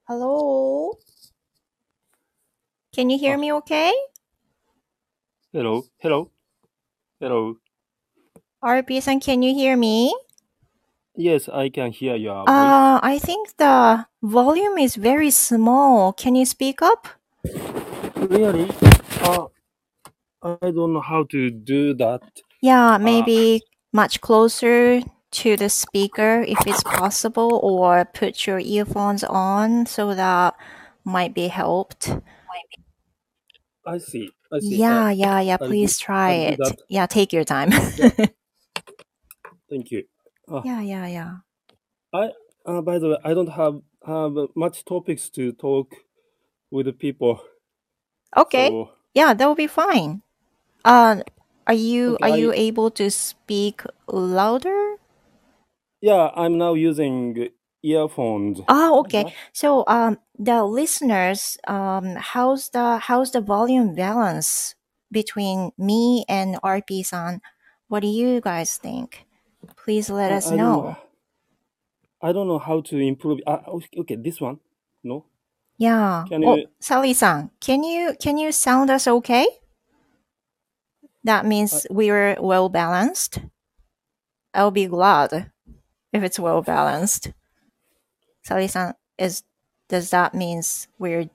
Hello? Can you hear Ah, me okay? hello, hello, hello. RP-san, can you hear me? Yes, I can hear your voice. I think the volume is very small. Can you speak up? Really? Uh, I don't know how to do that. Yeah, Uh, maybe much closer to the speaker if it's possible, or put your earphones on so that might be helped. I see. I see. Yeah, I'll do. please try I'll do it. that. Yeah, take your time. Yeah. Thank you. Uh, Yeah. I. By the way, I don't have much topics to talk with the people. Okay. So Yeah, that will be fine. Uh, are you okay. are you able to speak louder? Yeah. I'm now using earphones Oh, like okay. that. So, the listeners, how's the volume balance between me and RP-san? What do you guys think? Please let us I don't know. know. I don't know how to improve. Okay. This one. No. Yeah. Can Oh, you? Sally-san, can you sound us okay? That Uh, means we're well balanced. I'll be glad if it's well balanced. Sally-san, is does that means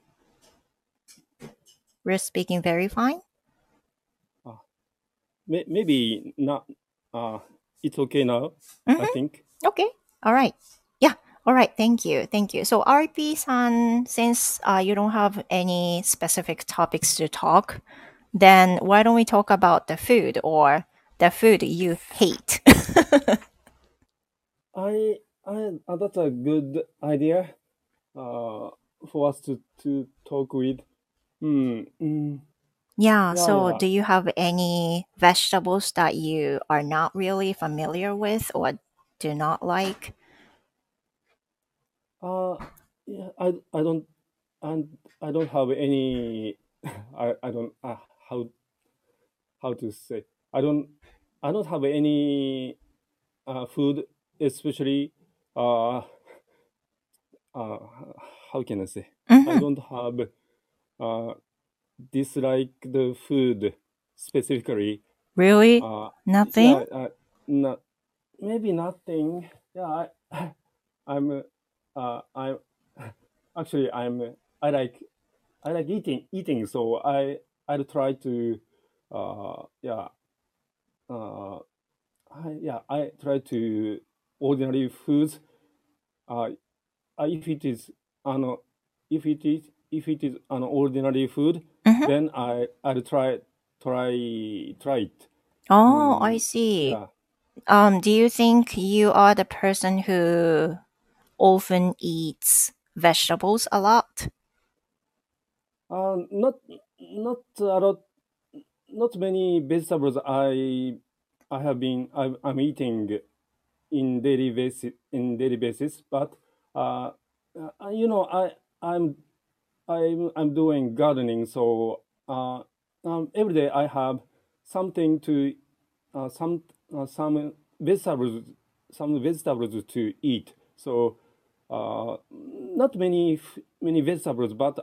we're speaking very fine? uh, maybe not. Uh, it's okay now. I Mm-hmm. think. Okay. All right. Yeah. All right. Thank you. Thank you. So, RP-san, since you don't have any specific topics to talk, then why don't we talk about the food or the food you hate? That's a good idea. Uh, for us to talk with. Yeah. Yeah, So, yeah. do you have any vegetables that you are not really familiar with or do not like? Uh, yeah. I don't and I don't have any. I don't. How to say. I don't. I don't have any food, especially. Uh, uh, how can I say? I Mm-hmm. don't have uh, dislike the food specifically. Really? Uh, Nothing? yeah, not maybe nothing. Yeah, I'm actually I like I like eating. So I'll try to yeah uh I try to ordinary foods. Uh, if it is an if it is an ordinary food, Mm-hmm. then I'll try it. Oh, I Mm, see. yeah. Do you think you are the person who often eats vegetables a lot? Not a lot. Not many vegetables I have been I'm eating in daily basis, but uh, you know I'm I'm doing gardening, so every day I have something to some vegetables some vegetables to eat. So not many vegetables, but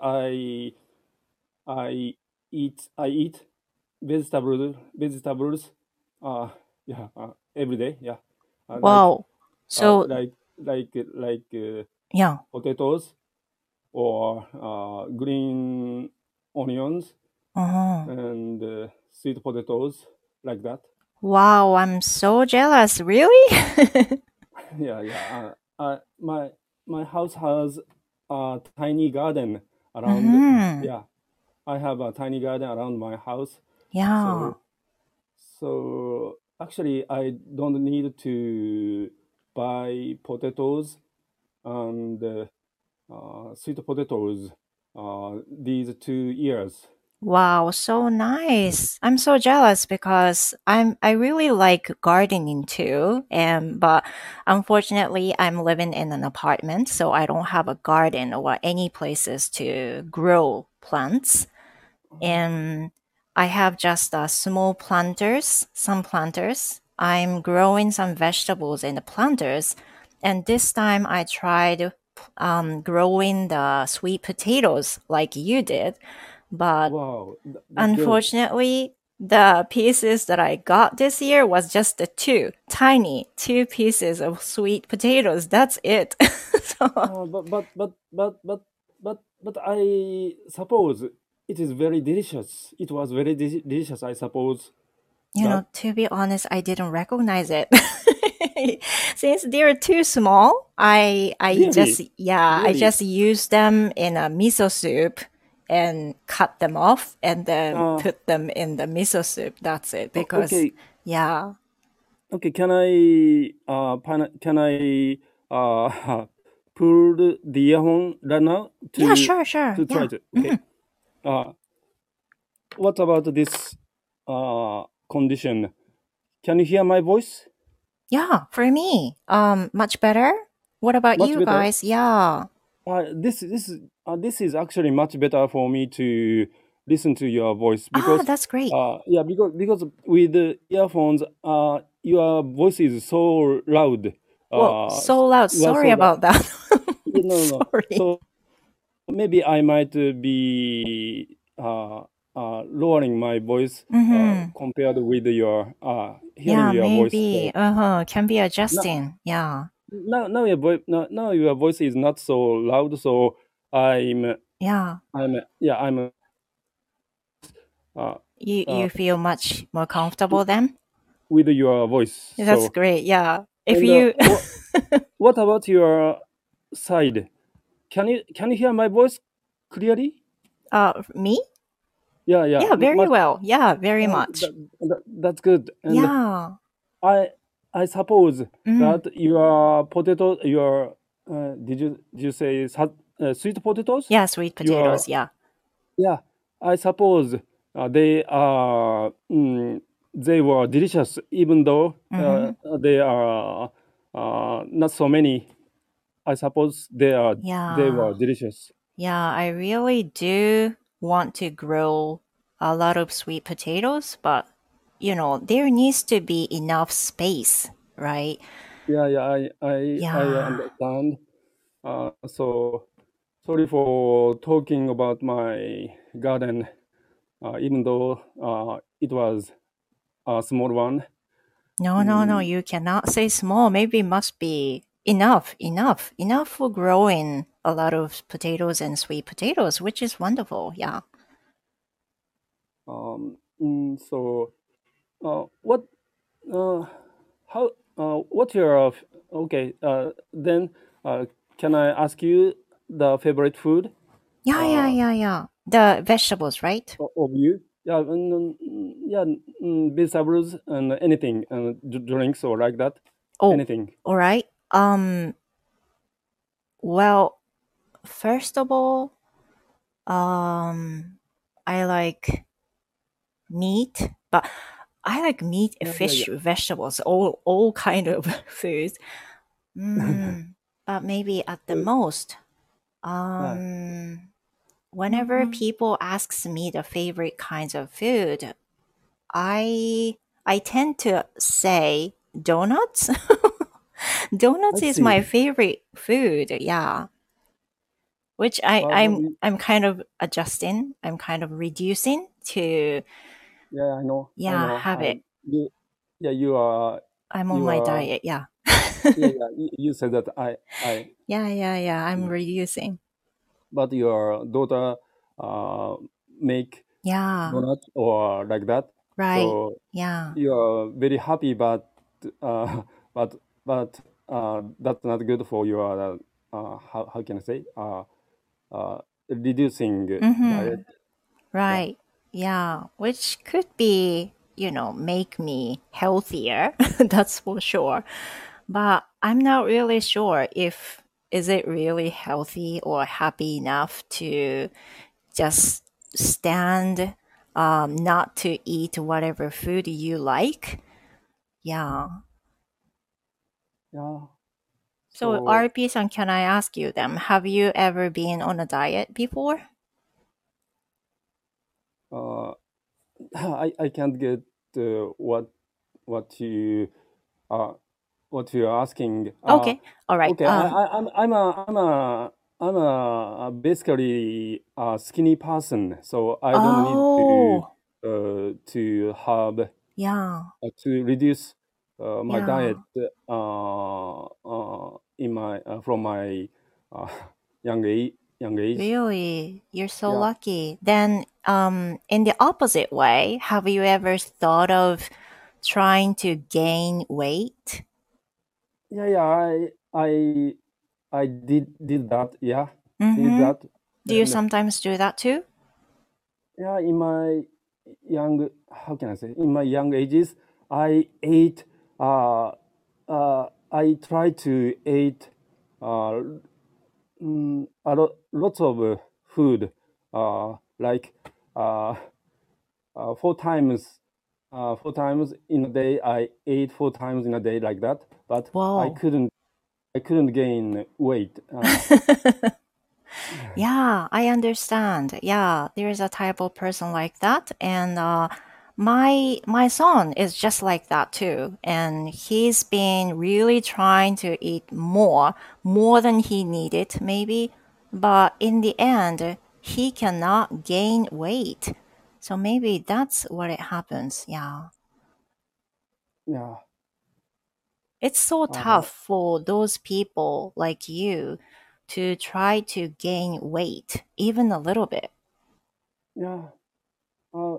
I I eat vegetables yeah every day, yeah. Wow. So, Like like yeah. potatoes or green onions uh and sweet potatoes like that. Wow, I'm so jealous. Really? Yeah, yeah. My house has a tiny garden around. hmm Yeah, I have a tiny garden around my house. Yeah. So actually, I don't need to buy potatoes and sweet potatoes these 2 years. Wow, so nice. I'm so jealous because I really like gardening too. And but unfortunately I'm living in an apartment, so I don't have a garden or any places to grow plants. And I have just small planters, some planters. I'm growing some vegetables in the planters. And this time I tried growing the sweet potatoes like you did. But Wow, that's good. unfortunately, the pieces that I got this year was just the two pieces of sweet potatoes. That's it. So, But I suppose it is very delicious. It was very delicious, I suppose. That to be honest, I didn't recognize it. Since they're too small, really, I really. just use them in a miso soup and cut them off and then Uh, put them in the miso soup. That's it. Because, okay, yeah. okay. Can I pull the earphone right now Yeah, sure, sure. to try Yeah. to? Okay. Uh, what about this condition? Can you hear my voice? Yeah, for me, much better. What about Much you better. guys? Yeah. This is actually much better for me to listen to your voice Ah, because that's great. yeah, because with the earphones your voice is so loud. Well, so loud. You are Sorry so loud. about that. No. Sorry. So maybe I might be lowering my voice Mm-hmm. compared with your hearing Yeah, your voice. maybe. So Uh-huh. Can be now adjusting. Yeah. now your voice is not so loud. So I'm Yeah. I'm uh, uh, You feel much more comfortable then? with your voice. That's So, great. Yeah. If and you what about your side? Can you hear my voice clearly? me? Yeah, Yeah, very much. well. Yeah, very Uh, much. that's good. And Yeah. I I suppose Mm. that your potato, your did you say sweet potatoes? Yeah, sweet Your potatoes. Yeah. Yeah, I suppose they were delicious, even though Mm-hmm. they are not so many. I suppose they Yeah. were delicious. Yeah, I really do want to grow a lot of sweet potatoes, but there needs to be enough space, right? Yeah, I Yeah. understand. So sorry for talking about my garden, even though it was a small one. No, no, no, Mm, you cannot say small. Maybe it must be enough for growing a lot of potatoes and sweet potatoes, which is wonderful. Yeah. so what Uh, how? What's your okay? Then can I ask you the favorite food Yeah, yeah, uh, yeah, yeah. The vegetables, right? of you? Yeah, yeah, vegetables and anything, drinks or like that. Oh, Anything. all right. Well, first of all, I like meat, but I like meat, Yeah. fish, vegetables, all kind of foods. But maybe at the most, Uh, whenever people asks me the favorite kinds of food, I tend to say donuts. I Donuts is see. my favorite food. Yeah, which But I'm kind of adjusting. I'm kind of reducing to yeah, I yeah know. have it. You, yeah, you are, I'm on you my are. diet. Yeah. Yeah. You said that I. Yeah, yeah, yeah. I'm reducing. But your daughter uh, make Yeah. donut or like that. Right. So Yeah. you're very happy, uh, but that's not good for your how can I say reducing diet. Mm-hmm. Yeah, Right. Yeah. Which could be, make me healthier. That's for sure. But I'm not really sure if is it really healthy or happy enough to just stand not to eat whatever food you like. Yeah. yeah. So So RP-san, can I ask you them? Have you ever been on a diet before? uh, I can't get what you uh, what you're asking. Okay. All right. Okay, I'm a basically a skinny person, so I don't need Oh, to have yeah. to reduce my diet Yeah. in my from my uh, young age. Really? You're so Yeah, lucky. Then, in the opposite way, have you ever thought of trying to gain weight? yeah. I did that. Yeah, did Mm-hmm. that, Do you and sometimes do that too? yeah, in my young, how can I say, in my young ages, I ate, I tried to eat uh, lots of food, like uh, 4 times in a day. I ate 4 times in a day like that, but Whoa. I couldn't gain weight. Yeah, I understand. Yeah, there is a type of person like that, and my son is just like that too. And he's been really trying to eat more than he needed, maybe. But in the end, he cannot gain weight. So maybe that's what it happens. Yeah. Yeah, It's so uh, tough for those people like you to try to gain weight, even a little bit. yeah. Uh,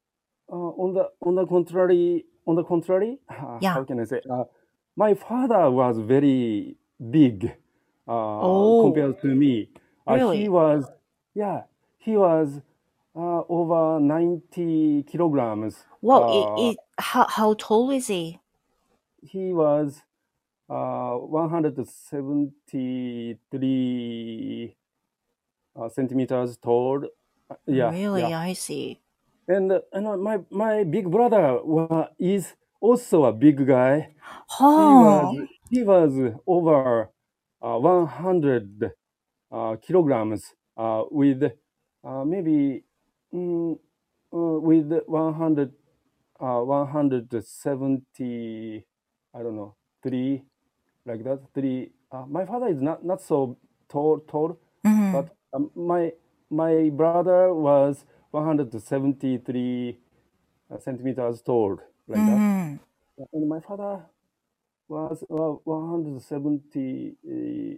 on the contrary, Yeah. how can I say? My father was very big Oh, compared to me. He really? was, yeah, he was over 90 kilograms. Well, how tall is he? He was 173 centimeters tall. Yeah, Really, yeah. I see. And my big brother is also a big guy. He was Oh, he was over 100 kilograms with maybe mm, with 170, I don't know, three, like that, three. My father is not so tall, mm-hmm, but my brother was 173 centimeters tall, like that. mm-hmm. And my father was 170,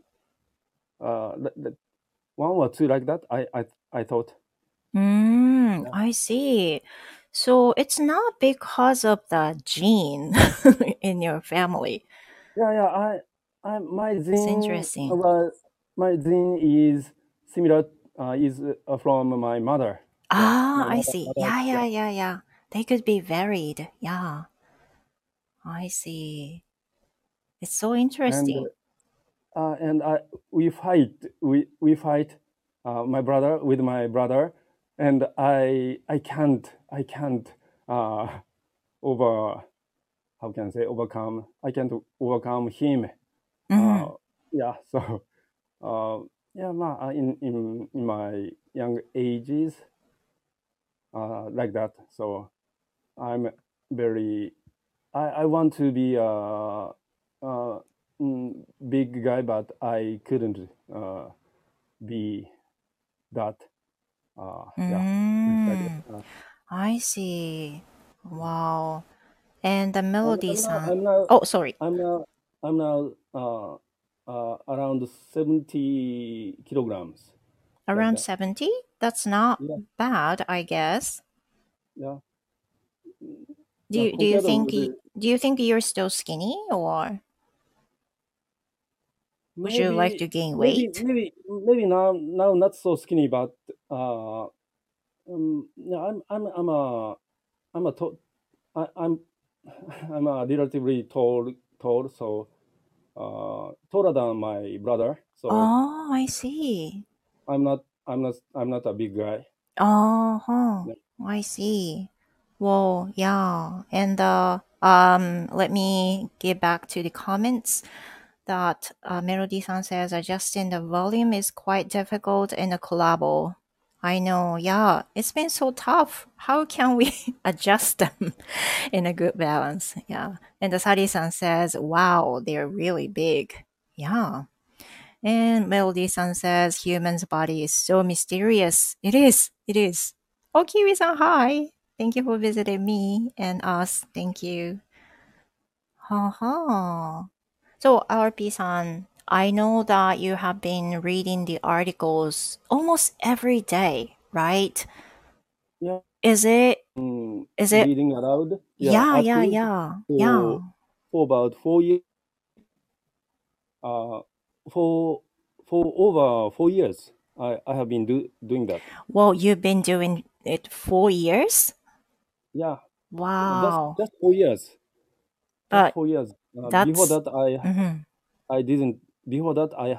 one or two, like that. I thought. Mm, Yeah, I see. So it's not because of the gene in your family. yeah. I It's interesting. my gene is similar. Is from my mother. Yeah, Ah, my I mother. see. Mother, Yeah, yeah, yeah, yeah, yeah. They could be varied. Yeah, I see. It's so and interesting. and we fight. We fight. My brother with my brother, and I can't uh, over how can I say overcome. I can't overcome him. Mm-hmm. Uh, yeah. So uh, yeah, in my young ages, like that. So I'm very. I want to be uh, big guy, but I couldn't be that. Yeah, like that. Mm, I see. Wow. And the melody I'm now, sound. I'm now, Oh, sorry. I'm now, I'm now around 70 kilograms, like Around that. 70? That's not Yeah, bad, I guess. yeah. Do you Compared think with the, do you think you're still skinny or would you like maybe, to gain weight? maybe now not so skinny, but yeah, I'm a to, I'm I'm a relatively tall, so taller than my brother. So Oh, I see. I'm not a big guy. Oh, huh. Yeah. I see. Well, yeah. And let me get back to the comments that Melody-san says adjusting the volume is quite difficult in a collabo. I know. Yeah, it's been so tough. How can we adjust them in a good balance? Yeah. And the Sari-san says, wow, they're really big. Yeah. And Melody-san says, human's body is so mysterious. It is. It is. Oh, Kiwi-san, hi. Thank you for visiting me and us. Thank you. Ha ha. So, RP-san, I know that you have been reading the articles almost every day, right? Yeah, Is it, is it, reading aloud. Yeah, yeah, yeah, articles yeah, for yeah. about 4 years. Uh, for over 4 years, I have been doing that. Well, you've been doing it 4 years? Yeah, Wow. just 4 years. Just But 4 years. Before that's, that, mhm, I didn't. Before that, I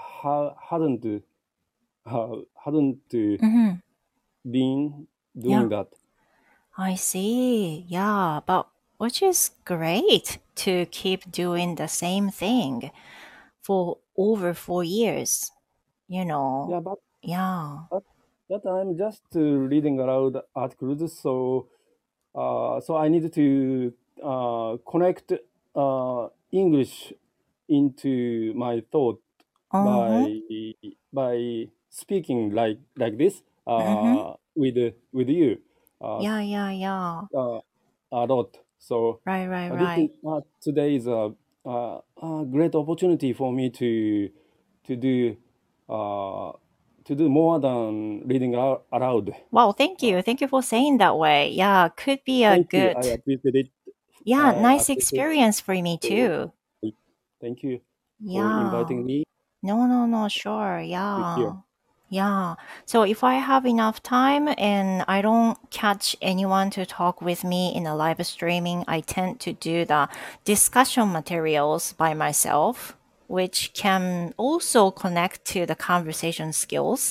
hadn't mhm, been yeah. doing that. I see. Yeah, but which is great to keep doing the same thing for over 4 years, you know. Yeah, but Yeah. at that time, just reading aloud articles. So I needed to connect English into my thought Uh-huh. by speaking like this Mm-hmm. with you uh, Yeah, yeah, yeah. uh, a lot. So Right, right, this is right. today is a great opportunity for me to do uh, more than reading aloud. Wow, thank Uh, you. Thank you for saying that way. Yeah, could be a Thank you. good, I appreciate it. yeah, I nice appreciate experience for me it. too. Thank you for Yeah. inviting me No, no, no, sure. here. Yeah. Yeah. So if I have enough time and I don't catch anyone to talk with me in a live streaming, I tend to do the discussion materials by myself, which can also connect to the conversation skills.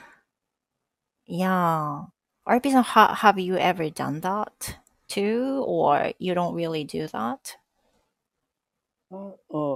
Yeah. RP-san, have you ever done that too, or you don't really do that? Uh, uh,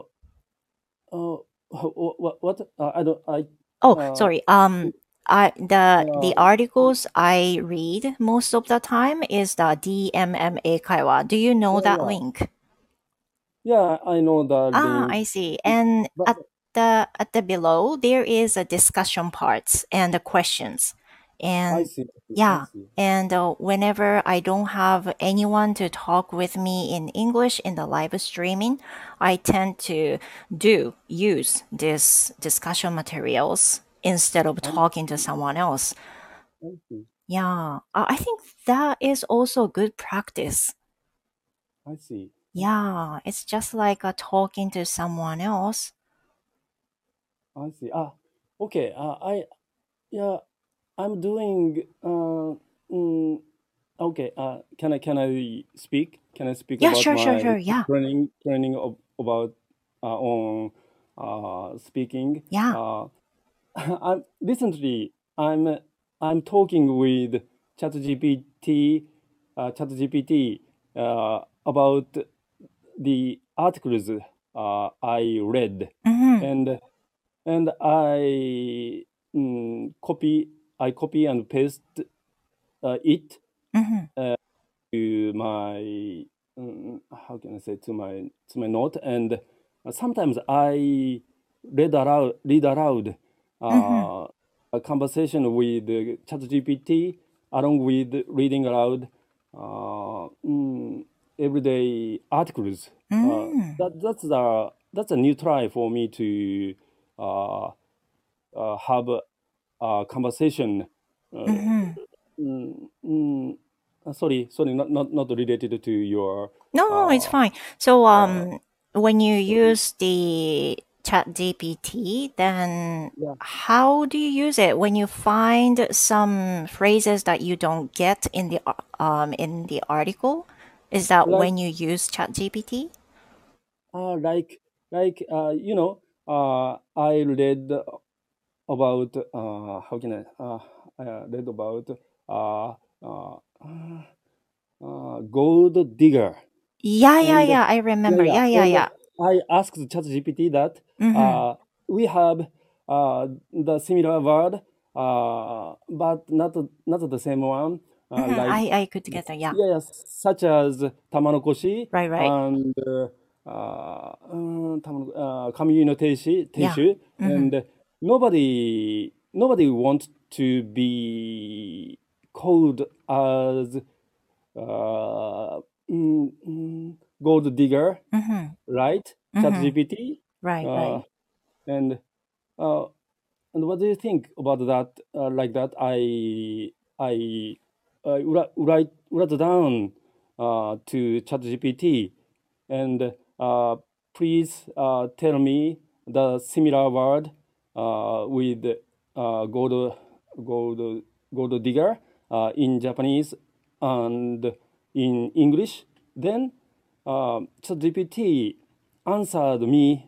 what? I don't. Oh, Uh, sorry. The uh, articles I read most of the time is the DMMA 会話. Do you know yeah, that yeah, link? yeah. I know the Ah, link, I see. And but at the below there is a discussion parts and the questions. I And see. I yeah, see. and whenever I don't have anyone to talk with me in English in the live streaming, I tend to use this discussion materials instead of I talking to see. someone else. I see. Yeah, I think that is also good practice. I see. Yeah, it's just like talking to someone else. I see. Okay. Yeah. I'm doing. Mm, okay. Can I speak? Can I speak Yeah, about sure, sure, my sure. Yeah, training about on speaking? yeah. Recently, I'm talking with ChatGPT about the articles I read, Mm-hmm. and I copy and paste it Mm-hmm. to my how can I say to my note, and sometimes I read aloud Mm-hmm. uh, a conversation with ChatGPT along with reading aloud uh, mm, everyday articles. Mm-hmm. That's a new try for me to uh, have a conversation. Uh, Mm-hmm. mm, mm, sorry, not related to your. No, no, it's Uh, fine. So, uh, when you Story. use the Chat GPT, then Yeah, how do you use it when you find some phrases that you don't get in the article? Is that like when you use Chat GPT? uh, like I read about how can I read about uh, uh, gold digger. Yeah, yeah, And yeah. I yeah, remember. yeah. Yeah, yeah, And yeah. I asked ChatGPT that Mm-hmm. we have the similar word. but not the same one. Like I could get that. Yeah. yeah, such as tamanokoshi Right. Right. and kamiyuno Yeah. teishu, Mm-hmm. and nobody wants to be called as uh, gold digger, Mm-hmm. right? Mm-hmm. ChatGPT, Right. uh, Right. and uh, and what do you think about that? Like that, I write down to ChatGPT, and please tell me the similar word with gold gold digger in Japanese and in English. Then ChatGPT answered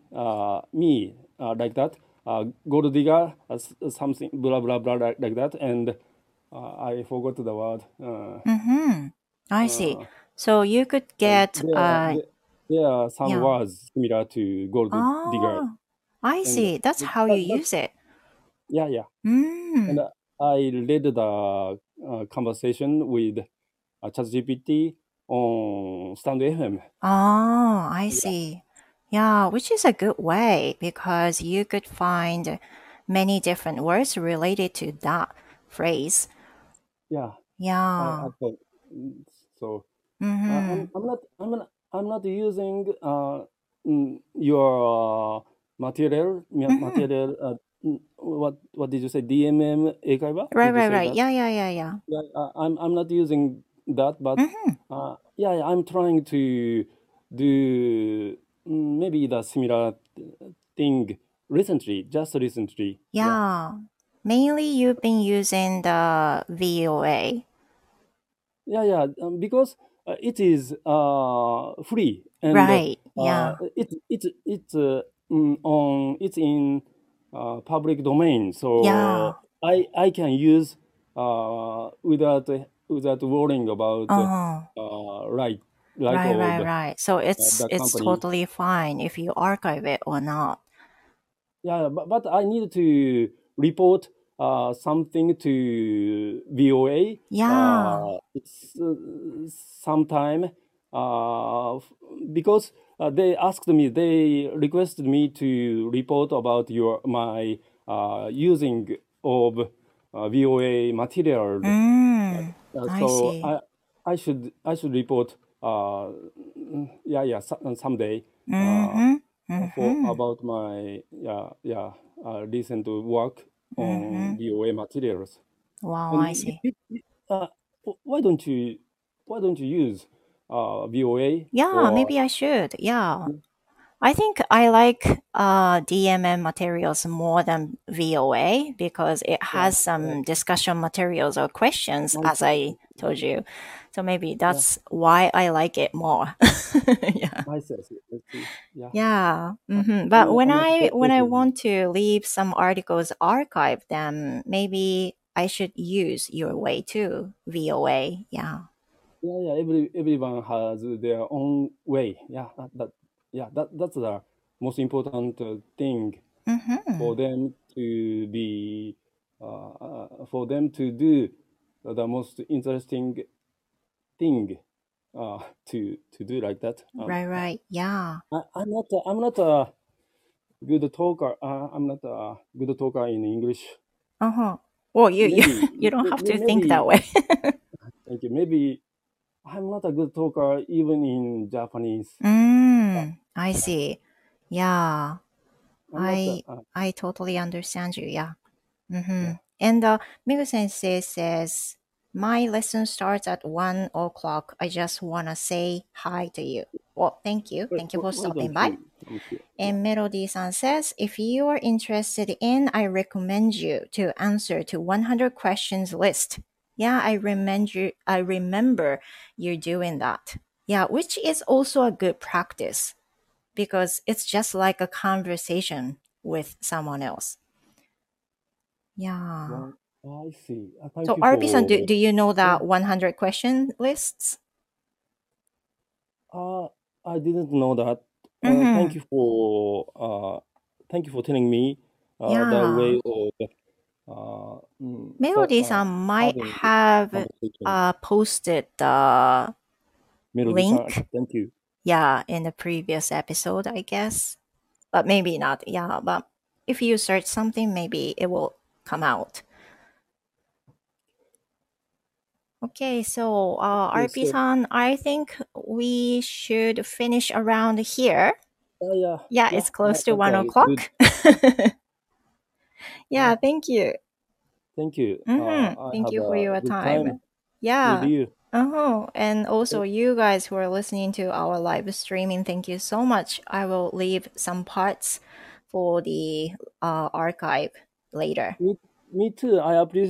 me like that. Gold digger, something blah blah blah like that, and I forgot the word. Mm-hmm. I see. Uh, So you could and get there are some yeah. words similar to gold digger, Oh, I and see. That's how you that's use it. yeah. And Mm. I read the conversation with ChatGPT on Stand FM. Oh, I Yeah, see. Yeah, which is a good way because you could find many different words related to that phrase. yeah. I Yeah. thought so. Mm-hmm. I'm not using your Mm-hmm. material. What did you say? DMM 英会話? Right, Did you right, say right. that? Yeah. Yeah, I'm not using that, but Mm-hmm. yeah, I'm trying to do maybe the similar thing recently, just recently. Yeah, Yeah. Mainly you've been using the VOA. because it is free, and Right. Yeah. it's in public domain, Yeah. so I can use without worrying about Oh. right Right, of right, right. So the it's company. totally fine if you archive it or not. Yeah, but I need to report something to VOA. Yeah. It's sometime because they requested me to report about my using of VOA material. Mm. I So see. I should report someday uh, Mm-hmm. for Mm-hmm. about my recent work Mm-hmm. on VOA materials. Wow, And I see. uh, why don't you use VOA Yeah, or maybe I should. Yeah. I think I like DMM materials more than VOA because it yeah, has some discussion materials or questions, nice, as I told you. So maybe yeah, that's why I like it more. Yeah. nice. Let's see. Yeah, Yeah. But when I'm not I questioning. want to leave some articles archived, then maybe I should use your way too, VOA. Yeah. Yeah. Everyone has their own way. That's the most important thing for Mm-hmm. them to be for them to do the most interesting thing to do like that. Right, right. Yeah. I'm not a good talker. I'm not a good talker in English. Uh-huh. Well, you Maybe you don't have to think that maybe way. thank you. Maybe I'm not a good talker even in Japanese. I see. Yeah. I'm not. I totally understand you. Yeah. Mm-hmm. Yeah. And Migu Sensei says, my lesson starts at 1 o'clock. I just want to say hi to you. Well, thank you. Thank you for Why stopping don't by. you come here? Yeah. And Melody-san says, if you are interested in, I recommend you to answer to 100 questions list. Yeah, I remember you doing that. Yeah, which is also a good practice because it's just like a conversation with someone else. Yeah. Well, I see. Thank So you RP-san, for. do you know Yeah. that 100 question lists? Uh, I didn't know that. Mm-hmm. Thank you for telling me the Yeah. way of. Melody-san might having this have conversation. posted the Melody-san, link, thank you. yeah, in the previous episode, I guess. But maybe not. Yeah, but if you search something, maybe it will come out. Okay, so Okay, so RP-san, I think we should finish around here. yeah, Yeah, yeah, it's close to that 1 was good. o'clock. Yeah, Yeah, thank you. thank you. I Thank have you for a your good time. time with Yeah. you. And also, So, you guys who are listening to our live streaming, thank you so much. I will leave some parts for the archive later. me too.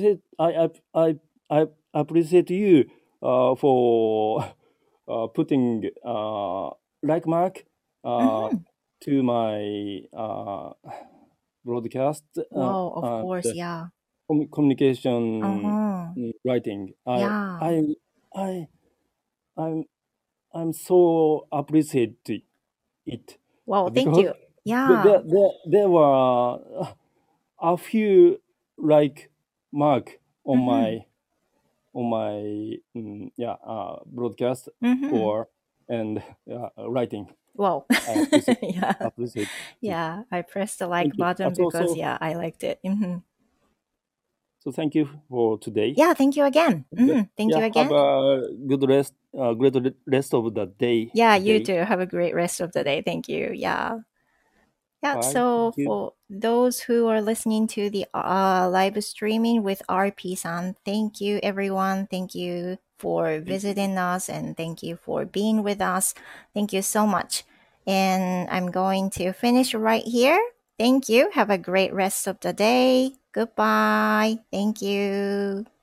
I appreciate you for putting like mark Mm-hmm. to my broadcast Wow, of and course, yeah. communication Uh-huh. writing. Yeah. I I'm I'm so appreciate it Wow, thank because you. Yeah. there were a few like mark Mm-hmm. on my broadcast Mm-hmm. or and writing. Wow. I Yeah. appreciate it. Yeah. I pressed the Thank like you. button because, yeah, I liked it. So thank you for today. Yeah, thank you again. Thank you Yeah, have again. a good rest, great rest of the day Yeah, you today. too. Have a great rest of the day. Thank you. Yeah. Yeah, Bye. so Thank you. for those who are listening to the live streaming with RP-san, thank you everyone. Thank you for Thank you. visiting us and thank you for being with us. Thank you so much. And I'm going to finish right here. Thank you. Have a great rest of the day. Goodbye. Thank you.